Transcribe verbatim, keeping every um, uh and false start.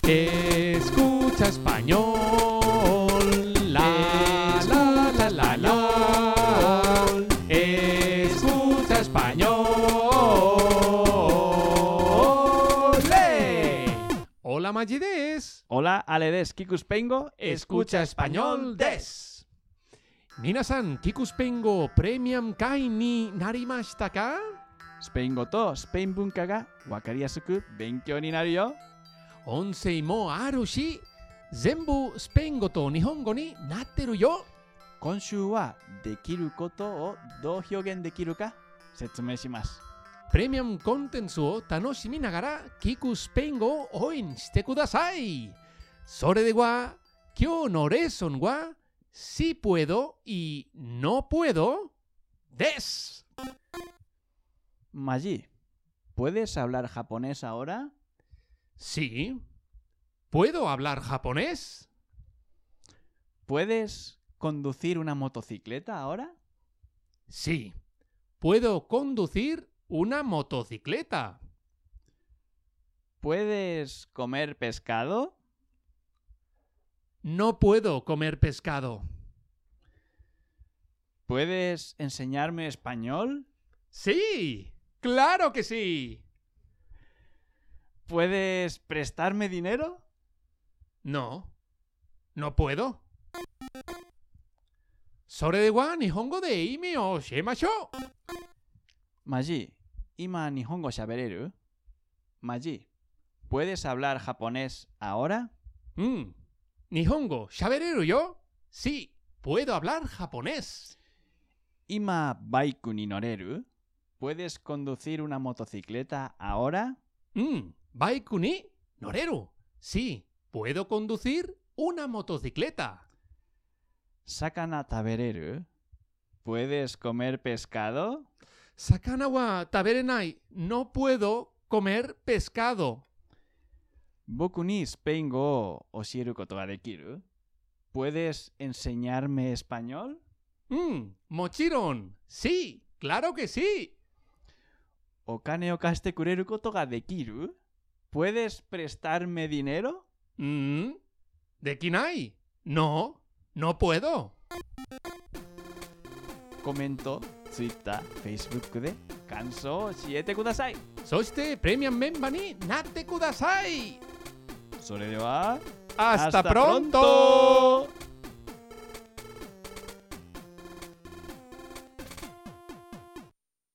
Escucha español. La, la, la, la, la. Escucha español. ¡Le! Hola, Maggi des. Hola, Ale des. Kikuspengo. Escucha español des. Minasan, Kikuspengo premium kai ni narimashita ka? スペイン語とスペイン文化がわかりやすく勉強になるよ。 音声もあるし、全部スペイン語と日本語になってるよ。 今週はできることをどう表現できるか説明します。 プレミアムコンテンツを楽しみながら聞くスペイン語を応援してください。それでは今日のレッスンはsi puedo y no puedo des. Maggi, ¿puedes hablar japonés ahora? Sí. ¿Puedo hablar japonés? ¿Puedes conducir una motocicleta ahora? Sí. ¿Puedo conducir una motocicleta? ¿Puedes comer pescado? No puedo comer pescado. ¿Puedes enseñarme español? Sí, claro que sí. ¿Puedes prestarme dinero? No, no puedo. それでは日本語で意味を教えましょう。 Maggi, 今日本語喋れる? Maggi, ¿puedes hablar japonés ahora? うん、日本語喋れるよ。Sí, puedo hablar japonés. 今バイクに乗れる? ¿Puedes conducir una motocicleta ahora? うん、バイクに乗れる。Sí, puedo conducir una motocicleta. 魚食べれる? ¿Puedes comer pescado? 魚は食べれない。No puedo comer pescado. 僕にスペイン語を教えることができる? ¿Puedes enseñarme español? うん、もちろん。Sí, claro que sí. お金を貸してくれることができる? ¿Puedes prestarme dinero? うん、できない。No, no puedo. コメント、Twitter、Facebook で感想を教えてください。 そしてプレミアムメンバーになってください。 それでは、 Hasta pronto!